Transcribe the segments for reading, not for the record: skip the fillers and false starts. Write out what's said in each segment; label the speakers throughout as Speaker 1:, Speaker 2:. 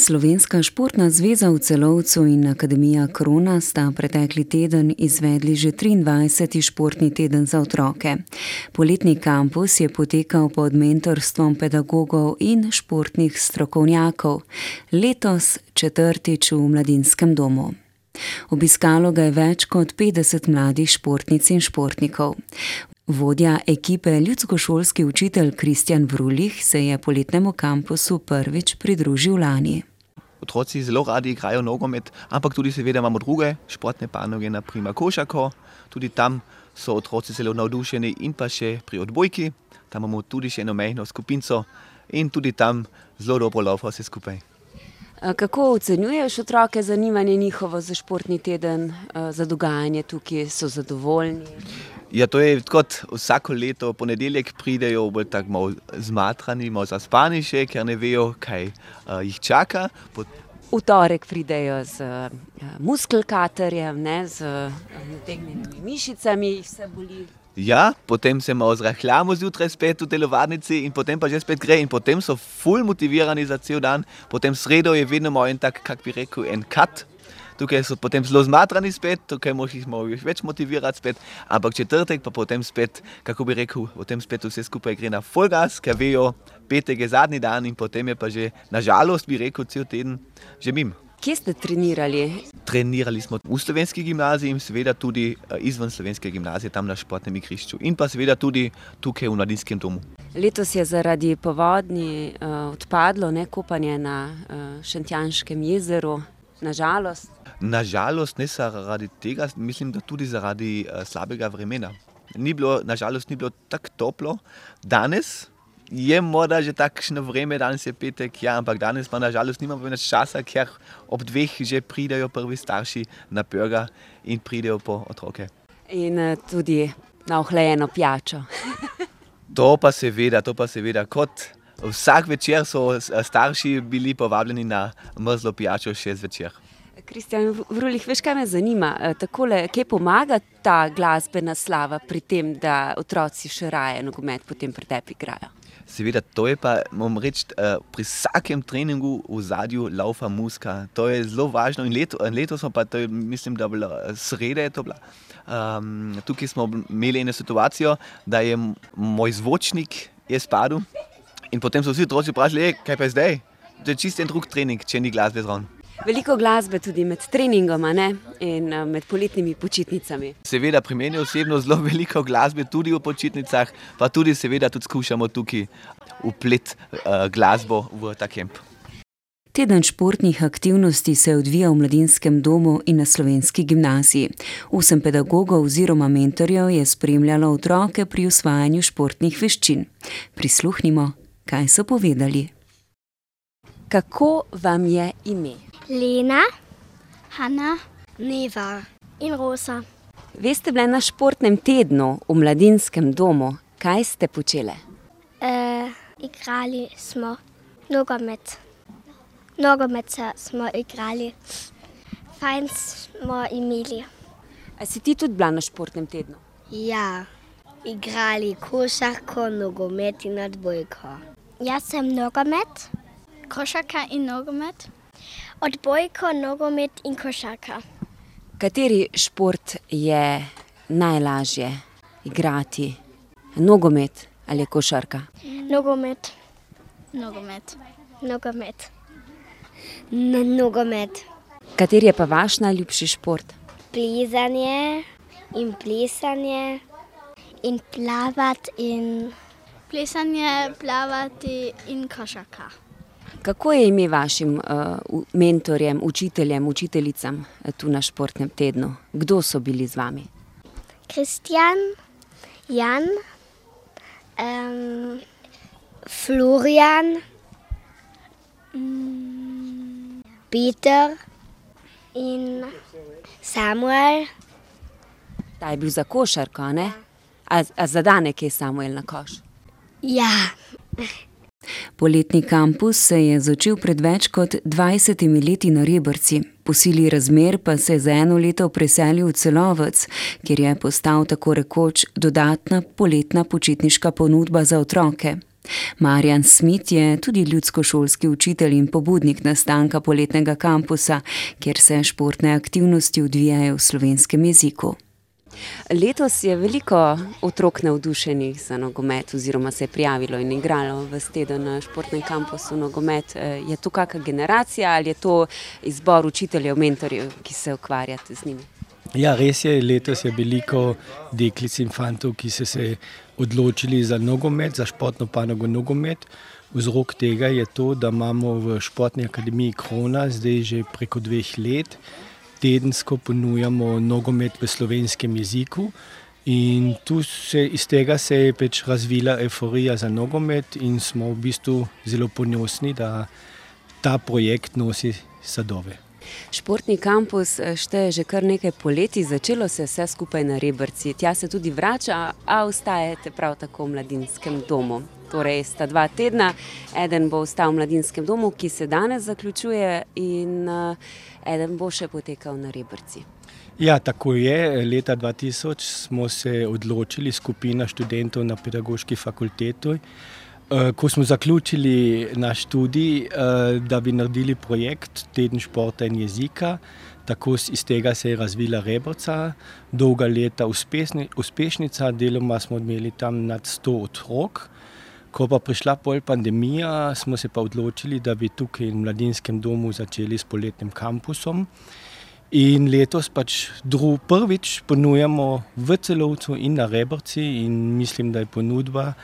Speaker 1: Slovenska športna zveza v Celovcu in Akademija Krona sta pretekli teden izvedli že 23. športni teden za otroke. Poletni kampus je potekal pod mentorstvom pedagogov in športnih strokovnjakov, letos četrtič v Mladinskem domu. Obiskalo ga je več kot 50 mladih športnic in športnikov. Vodja ekipe ljudskošolski učitelj Kristjan Vrulih se je poletnemu kampusu prvič pridružil lani.
Speaker 2: Otroci zelo radi igrajo nogomet, ampak tudi seveda imamo druge športne panoge, na primer košarko. Tudi tam so otroci zelo navdušeni in pa še pri odbojki. Tam imamo tudi še eno majhno skupinco in tudi tam zelo dobro laufa vse skupaj.
Speaker 3: Kako ocenjuješ otroke, zanimanje njihovo za športni teden, za dogajanje tukaj, so zadovoljni?
Speaker 2: Ja, to je kot vsako leto, ponedeljek pridejo bolj tako malo zmatrani, malo zaspani še, ker ne vejo, kaj jih čaka.
Speaker 3: V torek pridejo z muskelkaterjem, z nategnjenimi mišicami, jih vse boli.
Speaker 2: Ja, potem se malo zrahljamo zjutraj spet v telovadnici in potem pa že spet gre in potem so ful motivirani za cel dan. Potem sredo je vedno malo en tak, kak bi rekel, en cut. Tukaj so potem zelo zmatrani spet, tukaj moraš jih malo več motivirati spet, ampak četrtek pa potem spet, kako bi rekel, potem spet vse skupaj gre na full gas, ker vejo, petek je zadnji dan in potem je pa že, nažalost bi rekel, cel teden že mimo.
Speaker 3: Kje ste trenirali?
Speaker 2: Trenirali smo v slovenski gimnaziji in seveda tudi izven slovenske gimnazije, tam na športnem igrišču in pa seveda tudi tukaj v Mladinskem domu.
Speaker 3: Letos je zaradi povodnji odpadlo kopanje na Šentjanškem jezeru, nažalost.
Speaker 2: Nažalost, ne zaradi tega, mislim, da tudi zaradi slabega vremena. Nažalost ni bilo tako toplo. Danes je morda že takšno vreme, danes je petek, ja, ampak danes pa nažalost nimamo več časa, ker ob 2 že pridejo prvi starši na burger in pridejo po otroke.
Speaker 3: In tudi na ohlajeno pijačo.
Speaker 2: To pa seveda, kot vsak večer so starši bili povabljeni na mrzlo pijačo še zvečer.
Speaker 3: Kristjan Vrulih, veš, kaj me zanima? Takole, kje pomaga ta glasbena slava pri tem, da otroci še raje nogomet potem pri tebi igrajo?
Speaker 2: Seveda, to je pa, moram reči, pri vsakem treningu v zadju laufa muzika. To je zelo važno in letos smo pa, to je, mislim, da bila sreda je to bila. Tukaj smo imeli eno situacijo, da je moj zvočnik je spadel in potem so vsi otroci vprašali, kaj pa je zdaj? To je čisto en drug trening, če ni glasbe zraven.
Speaker 3: Veliko glasbe tudi med treningoma, ne? In med poletnimi počitnicami.
Speaker 2: Seveda, pri meni osebno zelo veliko glasbe tudi v počitnicah, pa tudi seveda tudi skušamo tukaj vplet glasbo v ta kemp.
Speaker 1: Teden športnih aktivnosti se odvija v Mladinskem domu in na slovenski gimnaziji. 8 pedagogov oziroma mentorjev je spremljalo otroke pri usvajanju športnih veščin. Prisluhnimo, kaj so povedali. Kako vam je ime?
Speaker 4: Lena, Hanna, Neva in Rosa.
Speaker 3: Vi ste bile na športnem tednu v Mladinskem domu. Kaj ste počele?
Speaker 4: Igrali smo nogomet. Nogomet smo igrali. Fajn smo imeli.
Speaker 3: A si ti tudi bila na športnem tednu?
Speaker 4: Ja, igrali košarko, nogomet in odbojko. Jaz sem nogomet, košarka in nogomet. Odbojko, nogomet in košarka.
Speaker 3: Kateri šport je najlažje igrati? Nogomet ali košarka?
Speaker 4: Nogomet. Nogomet. Nogomet. Nogomet.
Speaker 3: Kateri je pa vaš najljubši šport?
Speaker 4: Plezanje in plesanje in plavati in... Plesanje, plavati in košarka.
Speaker 1: Kako je ime vašim mentorjem, učiteljem, učiteljicam tu na športnem tednu? Kdo so bili z vami?
Speaker 4: Kristjan, Jan, Florian, Peter in Samuel.
Speaker 1: Ta je bil za košarko, ne? A zadanek je Samuel na koš?
Speaker 4: Ja.
Speaker 1: Poletni kampus se je začel pred več kot 20 leti na Rebrci. Po sili razmer pa se je za 1 leto preselil v Celovec, kjer je postal tako rekoč dodatna poletna počitniška ponudba za otroke. Marjan Smit je tudi ljudskošolski učitelj in pobudnik nastanka poletnega kampusa, kjer se športne aktivnosti odvijajo v slovenskem jeziku.
Speaker 3: Letos je veliko otrok navdušenih za nogomet oziroma se je prijavilo in igralo ves teden na športnem kampusu nogomet. Je to kakšna generacija ali je to izbor učiteljev, mentorjev, ki se ukvarjate z njimi?
Speaker 5: Ja, res je, letos je veliko deklic in fantov, ki so se odločili za nogomet, za športno panogo nogomet. Vzrok tega je to, da imamo v Športni akademiji Krona zdaj že preko 2 let tedensko ponujamo nogomet v slovenskem jeziku in iz tega se je pač razvila euforija za nogomet in smo v bistvu zelo ponosni, da ta projekt nosi sadove.
Speaker 3: Športni kampus šteje že kar nekaj poletij, začelo se vse skupaj na Rebrci. Tja se tudi vrača, a ostajate prav tako v mladinskem domu. Torej sta 2 tedna, eden bo ostal v mladinskem domu, ki se danes zaključuje, in eden bo še potekal na Rebrci.
Speaker 5: Ja, tako je. Leta 2000 smo se odločili, skupina študentov na pedagoški fakulteti, ko smo zaključili naš študij, da bi naredili projekt Teden športa in jezika. Tako iz tega se je razvila Rebrca, dolga leta uspešnica, deloma smo imeli tam nad 100 otrok. Ko pa prišla pandemija, smo se pa odločili, da bi tukaj v mladinskem domu začeli s poletnim kampusom. In letos pač prvič ponujamo v Celovcu in na Rebrci in mislim, da je ponudba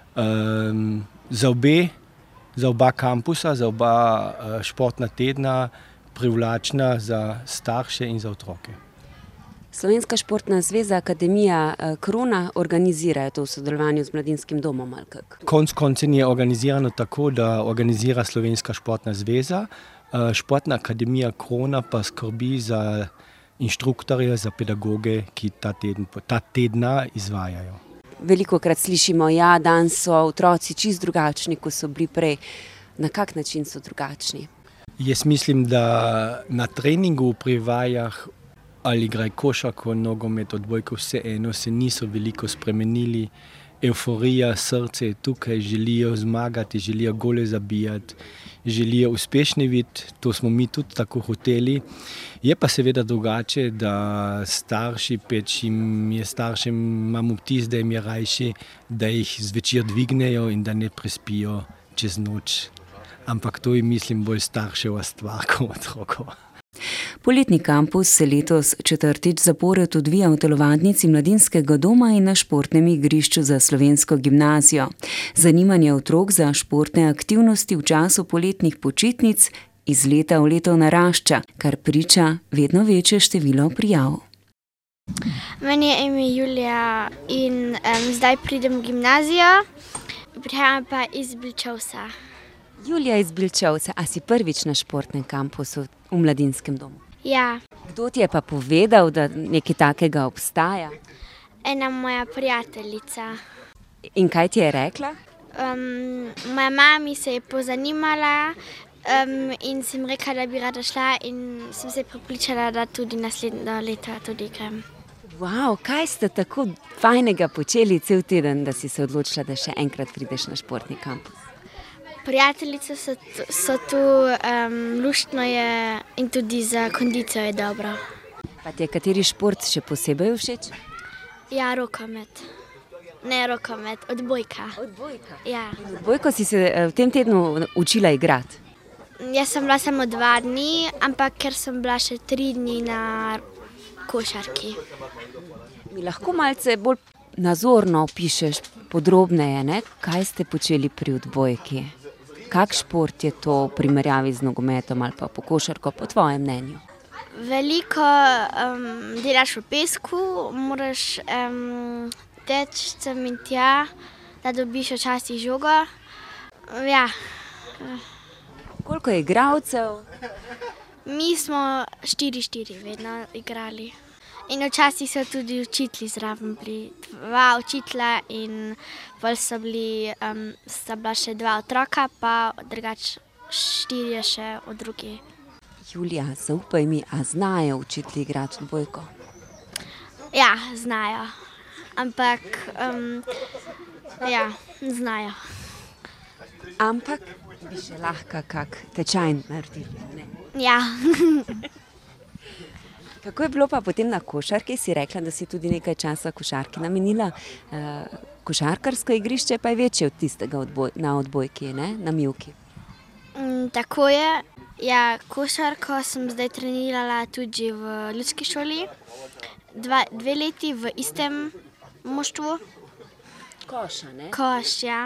Speaker 5: za oba kampusa, za oba športna tedna privlačna za starše in za otroke.
Speaker 3: Slovenska športna zveza Akademija Krona organizira to v sodelovanju z mladinskim domom, ali kako?
Speaker 5: Konec koncev je organizirano tako, da organizira Slovenska športna zveza, Športna akademija Krona pa skrbi za inštruktorje, za pedagoge, ki ta tedna izvajajo.
Speaker 3: Velikokrat slišimo, ja, danes so otroci čisto drugačni, kot so bili prej. Na kak način so drugačni?
Speaker 5: Jaz mislim, da na treningu pri vajah ali igraj košarko, nogomet, odbojko, vseeno se niso veliko spremenili. Euforija, srce je tukaj, želijo zmagati, želijo gole zabijati, želijo uspešni biti, to smo mi tudi tako hoteli. Je pa seveda drugače, da starši, staršem imamo vtis, da jim je rajši, da jih zvečer dvignejo in da ne prespijo čez noč. Ampak to je, mislim, bolj starševa stvar kot otrokov.
Speaker 1: Poletni kampus se letos 4. zapored odvija v telovadnici mladinskega doma in na športnem igrišču za slovensko gimnazijo. Zanimanje otrok za športne aktivnosti v času poletnih počitnic iz leta v leto narašča, kar priča vedno večje število prijav.
Speaker 4: Meni je ime Julija in zdaj pridem v gimnazijo, prihajam pa iz Bilčevca.
Speaker 3: Julija iz Bilčevca, a si prvič na športnem kampusu v mladinskem domu?
Speaker 4: Ja.
Speaker 3: Kdo ti je pa povedal, da nekaj takega obstaja?
Speaker 4: Ena moja prijateljica.
Speaker 3: In kaj ti je rekla?
Speaker 4: Moja mama se je pozanimala in sem rekla, da bi rada šla in sem se prepričala, da tudi naslednjo leto tudi grem.
Speaker 3: Wow, kaj ste tako fajnega počeli cel teden, da si se odločila, da še enkrat prideš na športni kampus?
Speaker 4: Prijateljice so tu, luštno je in tudi za kondicijo je dobro.
Speaker 3: Pa ti je kateri šport še posebej všeč?
Speaker 4: Ja, rokomet. Ne rokomet, odbojka.
Speaker 3: Odbojka?
Speaker 4: Ja.
Speaker 3: Odbojko si se v tem tednu učila igrati?
Speaker 4: Jaz sem bila samo 2 dni, ampak ker sem bila še 3 dni na košarki.
Speaker 3: Mi lahko malce bolj nazorno opišeš podrobneje, ne? Kaj ste počeli pri odbojki? Kak šport je to v primerjavi z nogometom ali pa po košarko, po tvojem mnenju?
Speaker 4: Veliko delaš v pesku, moraš teči sem in tja, da dobiš včasih žogo. Ja.
Speaker 3: Koliko je igralcev?
Speaker 4: Mi smo 4-4 vedno igrali. In včasih so tudi učitelji zraven bili. 2 učitelja in bolj sta bila še 2 otroka, pa drugače 4 še od drugih.
Speaker 3: Julija, zaupaj mi, a znajo učitelji igrati odbojko?
Speaker 4: Ja, znajo. Ampak, ja, znajo.
Speaker 3: Ampak bi še lahko kak tečaj naredili, ne?
Speaker 4: Ja.
Speaker 3: Kako je bilo pa potem na košarki? Si rekla, da si tudi nekaj časa košarki namenila. Košarkarsko igrišče pa je večje od tistega na odbojki, ne? Na mivki.
Speaker 4: Tako je. Ja, košarko sem zdaj trenirala tudi v ljudski šoli. 2 leti v istem moštvu.
Speaker 3: Koša, ne?
Speaker 4: Koš, ja.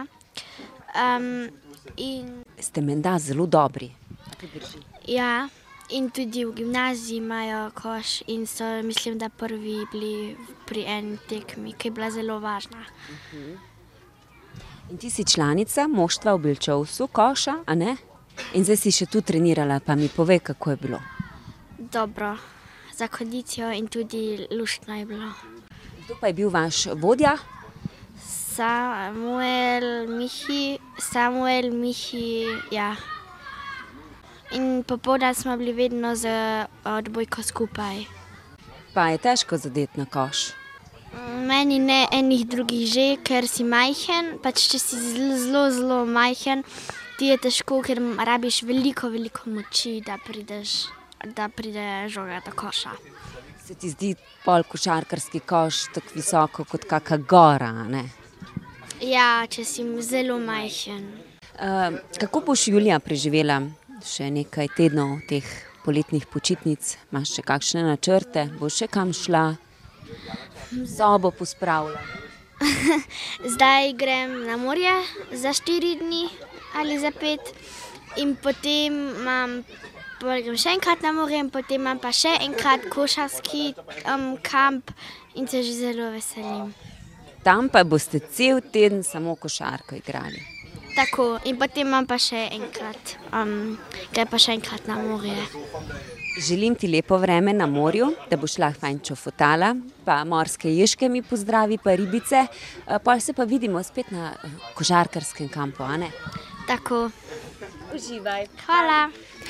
Speaker 3: Ste menda zelo dobri.
Speaker 4: Ja, in tudi v gimnaziji imajo koš in so, mislim, da prvi bili pri eni tekmi, ki je bila zelo važna.
Speaker 3: In ti si članica moštva v Belčovcu, koša, a ne? In zdaj si še tu trenirala, pa mi povej, kako je bilo.
Speaker 4: Dobro, za kondicijo in tudi luštno je bilo.
Speaker 3: Kdo pa je bil vaš vodja?
Speaker 4: Samuel, Mihi, ja. In popoldan smo bili vedno z odbojko skupaj.
Speaker 3: Pa je težko zadeti na koš.
Speaker 4: Meni ne, enih drugih že, ker si majhen, pač če si zelo, zelo majhen, ti je težko, ker rabiš veliko moči, da pride žoga do koša.
Speaker 3: Se ti zdi pol košarkarski koš tako visoko kot kaka gora, ne?
Speaker 4: Ja, če si zelo majhen.
Speaker 3: Kako boš julija preživela še nekaj tednov teh poletnih počitnic? Imaš še kakšne načrte? Boš še kam šla? Sobo pospravila?
Speaker 4: Zdaj grem na morje za 4 dni ali za 5 in potem grem še enkrat na morje in potem imam pa še enkrat košarski kamp in se že zelo veselim.
Speaker 3: Tam pa boste cel teden samo košarko igrali.
Speaker 4: Tako, in potem imam pa še enkrat, grem pa še enkrat na morje.
Speaker 3: Želim ti lepo vreme na morju, da boš lahko fajn čofotala, pa morske ježke mi pozdravi, pa ribice. Pol se pa vidimo spet na košarkarskem kampu, a ne?
Speaker 4: Tako.
Speaker 3: Uživaj.
Speaker 4: Hvala.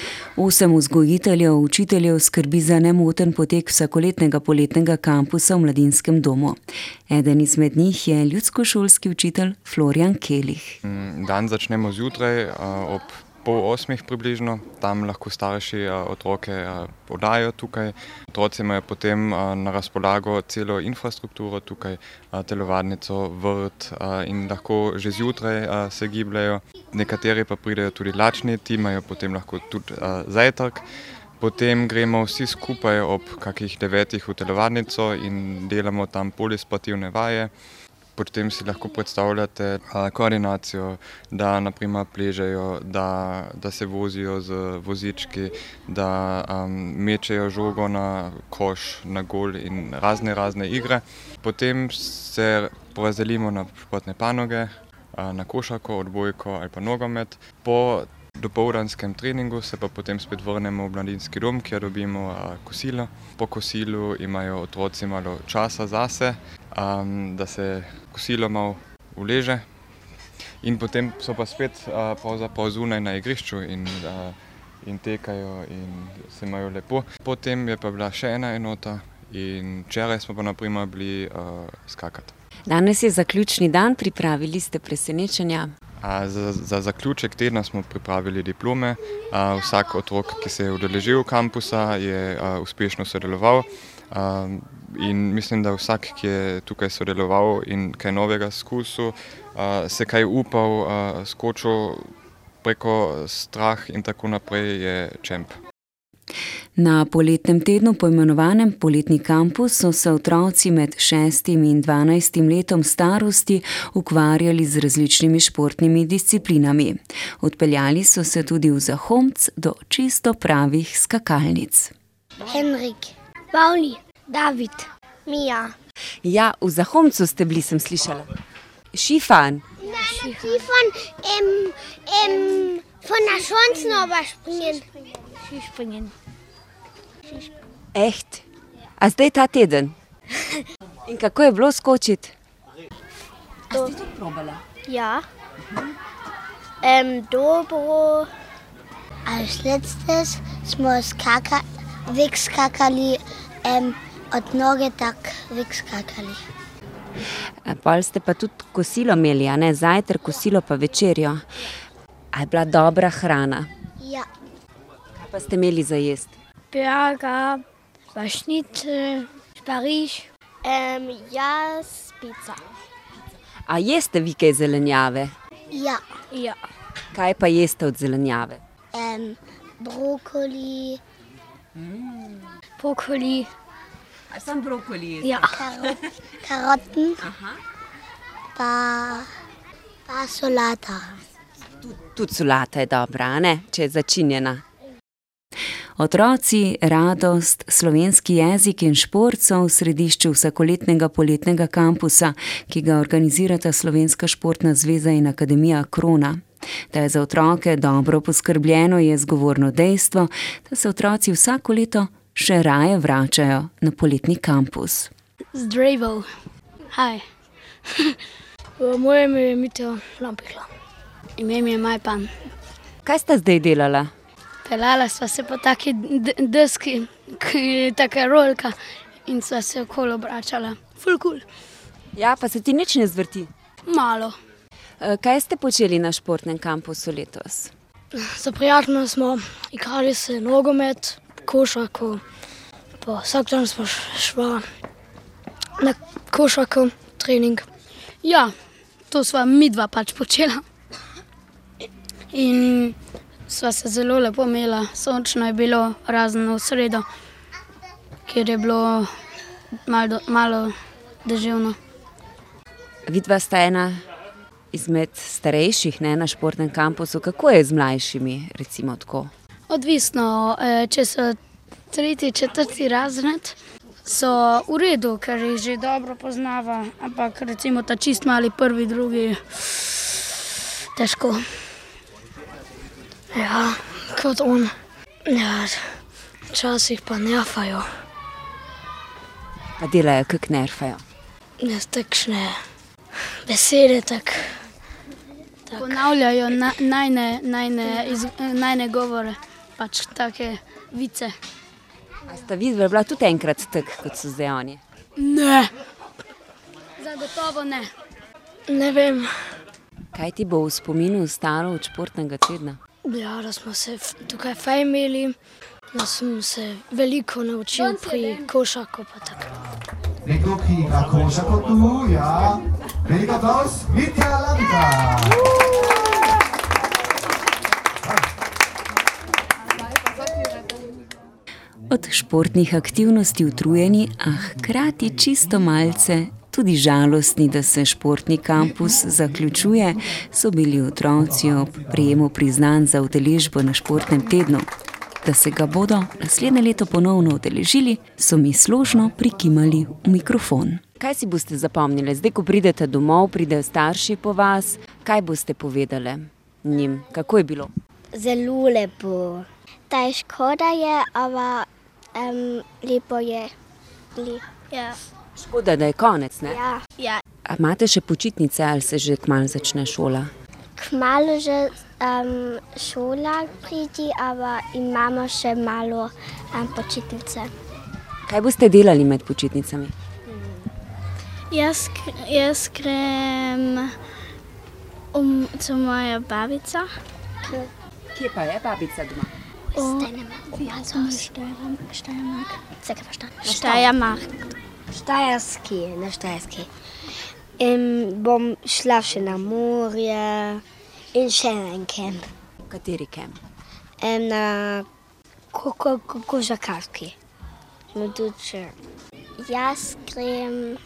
Speaker 1: 8 vzgojiteljev, učiteljev skrbi za nemoten potek vsakoletnega poletnega kampusa v mladinskem domu. Eden izmed njih je ljudskošolski učitelj Florian Kelih.
Speaker 6: Dan začnemo zjutraj ob 7:30 približno, tam lahko starši otroke podajo tukaj. Otroci imajo potem na razpolago celo infrastrukturo tukaj, telovadnico, vrt in lahko že zjutraj se gibljajo. Nekateri pa pridejo tudi lačni, ti imajo potem lahko tudi zajtrk. Potem gremo vsi skupaj ob kakih 9 v telovadnico in delamo tam polisportivne vaje. Potem si lahko predstavljate koordinacijo, da naprimer pležejo, da se vozijo z vozički, da mečejo žogo na koš, na gol in razne igre. Potem se porazdelimo na športne panoge, na košarko, odbojko ali pa nogomet. Po dopoldanskem treningu se pa potem spet vrnemo v mladinski dom, kjer dobimo kosilo. Po kosilu imajo otroci malo časa zase, da se kosilo malo uleže. In potem so pa spet pravzaprav zunaj na igrišču in tekajo in se imajo lepo. Potem je pa bila še ena enota in včeraj smo pa naprimer bili skakati.
Speaker 3: Danes je zaključni dan, pripravili ste presenečenja.
Speaker 6: Za zaključek tedna smo pripravili diplome. Vsak otrok, ki se je udeležil kampusa, je uspešno sodeloval. In mislim, da vsak, ki je tukaj sodeloval in kaj novega izkusil, se kaj upal, skočil preko strah in tako naprej, je čemp.
Speaker 1: Na poletnem tednu, poimenovanem Poletni kampus, so se otroci med 6 in 12 letom starosti ukvarjali z različnimi športnimi disciplinami. Odpeljali so se tudi v Zahomc do čisto pravih skakalnic.
Speaker 7: Henrik, Pauli, David, Mija.
Speaker 3: Ja, v Zahomcu ste bili, sem slišala. Skifan.
Speaker 7: Skifan, von der Schwanznauber springen. Skispringen.
Speaker 3: Echt? A zdaj ta teden? In kako je bilo skočiti? A ste to probala?
Speaker 7: Ja. Dobro. Als letztes smo wegskakali, od noge tak wegskakali.
Speaker 3: Pol ste pa tudi kosilo imeli, a ne? Zajtrk, kosilo pa večerjo. A je bila dobra hrana?
Speaker 7: Ja.
Speaker 3: Kaj pa ste imeli za jesti?
Speaker 7: Burger, Schnitzel, Pariž.
Speaker 4: Jaz pica.
Speaker 3: A jeste vi kaj zelenjave?
Speaker 7: Ja. Ja.
Speaker 3: Kaj pa jeste od zelenjave?
Speaker 7: Brokkoli. Brokkoli.
Speaker 3: A sam brokoli jeste?
Speaker 7: Ja. Karotten. Pa solata.
Speaker 3: Tudi solata je dobra, a ne? Če je začinjena.
Speaker 1: Otroci, radost, slovenski jezik in šport so v središču vsakoletnega poletnega kampusa, ki ga organizirata Slovenska športna zveza in Akademija Krona. Da je za otroke dobro poskrbljeno, je zgovorno dejstvo, da se otroci vsako leto še raje vračajo na poletni kampus.
Speaker 7: Zdravo. Hej. Moje ime je Mitja Lampihla. Ime mi je Majpan.
Speaker 3: Kaj sta zdaj delala?
Speaker 7: Pelala sva se po taki deski, ki je taka rolka in sva se okoli obračala. Ful cool.
Speaker 3: Ja, pa se ti nič ne zvrti?
Speaker 7: Malo.
Speaker 3: Kaj ste počeli na športnem kampusu letos?
Speaker 7: Za prijateljno smo igrali se nogomet, košarko, pa vsak dan smo šla na košarko trening. Ja, to sva midva pač počela. In sva se zelo lepo imela, sončno je bilo, razen v sredo, kjer je bilo malo deževno.
Speaker 3: Vidva sta ena izmed starejših, ne, na športnem kampusu. Kako je z mlajšimi, recimo tako?
Speaker 7: Odvisno, če so 3., 4. razred, so v redu, ker jih že dobro poznava, ampak recimo ta čist mali 1., 2. težko. Ja, kot on. Ja, včasih pa nerfajo.
Speaker 3: Pa delajo, kak nerfajo?
Speaker 7: Ne, takšne besede, tak. Ponavljajo najne govore, pač take vice.
Speaker 3: A sta vidva bila tudi enkrat tak, kot so zdaj oni?
Speaker 7: Ne. Zagotovo ne. Ne vem.
Speaker 3: Kaj ti bo v spominu ostalo od športnega tedna?
Speaker 7: Ja, da smo se tukaj fajn imeli, da sem se veliko naučil pri košarku pa tako.
Speaker 8: Nekdo, ki igra košarko tu, ja. Velik aplavz, Mitja Lampihla.
Speaker 1: Od športnih aktivnosti utrujeni, a hkrati čisto malce tudi žalostni, da se športni kampus zaključuje, so bili otroci ob prejemu priznanj za udeležbo na športnem tednu. Da se ga bodo naslednje leto ponovno udeležili, so mi složno prikimali v mikrofon.
Speaker 3: Kaj si boste zapomnili? Zdaj, ko pridete domov, pridejo starši po vas, kaj boste povedali njim? Kako je bilo?
Speaker 4: Zelo lepo. Ta je škoda je, ampak lepo je. Ja.
Speaker 3: Škoda, da je konec, ne?
Speaker 4: Ja.
Speaker 3: A imate še počitnice ali se že kmalu začne šola?
Speaker 4: Kmalu že šola pridi, ampak imamo še malo počitnice.
Speaker 3: Kaj boste delali med počitnicami?
Speaker 4: Jaz grem to moja babica.
Speaker 3: Kje pa je babica doma?
Speaker 7: Na Štajerski. Bom šla še na morje in še na en kamp.
Speaker 3: Kateri kamp?
Speaker 7: Na košarkarski.
Speaker 4: Jaz grem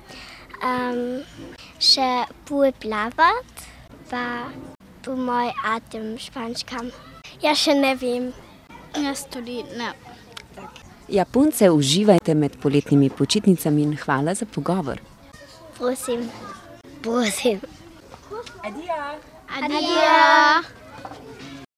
Speaker 4: še plavat, pa po moj atem špančkam. Jaz še ne vem. Jaz tudi ne.
Speaker 3: Ja, punce, uživajte med poletnimi počitnicami in hvala za pogovor.
Speaker 4: Prosim.
Speaker 7: Prosim.
Speaker 3: Adijo.
Speaker 4: Adijo.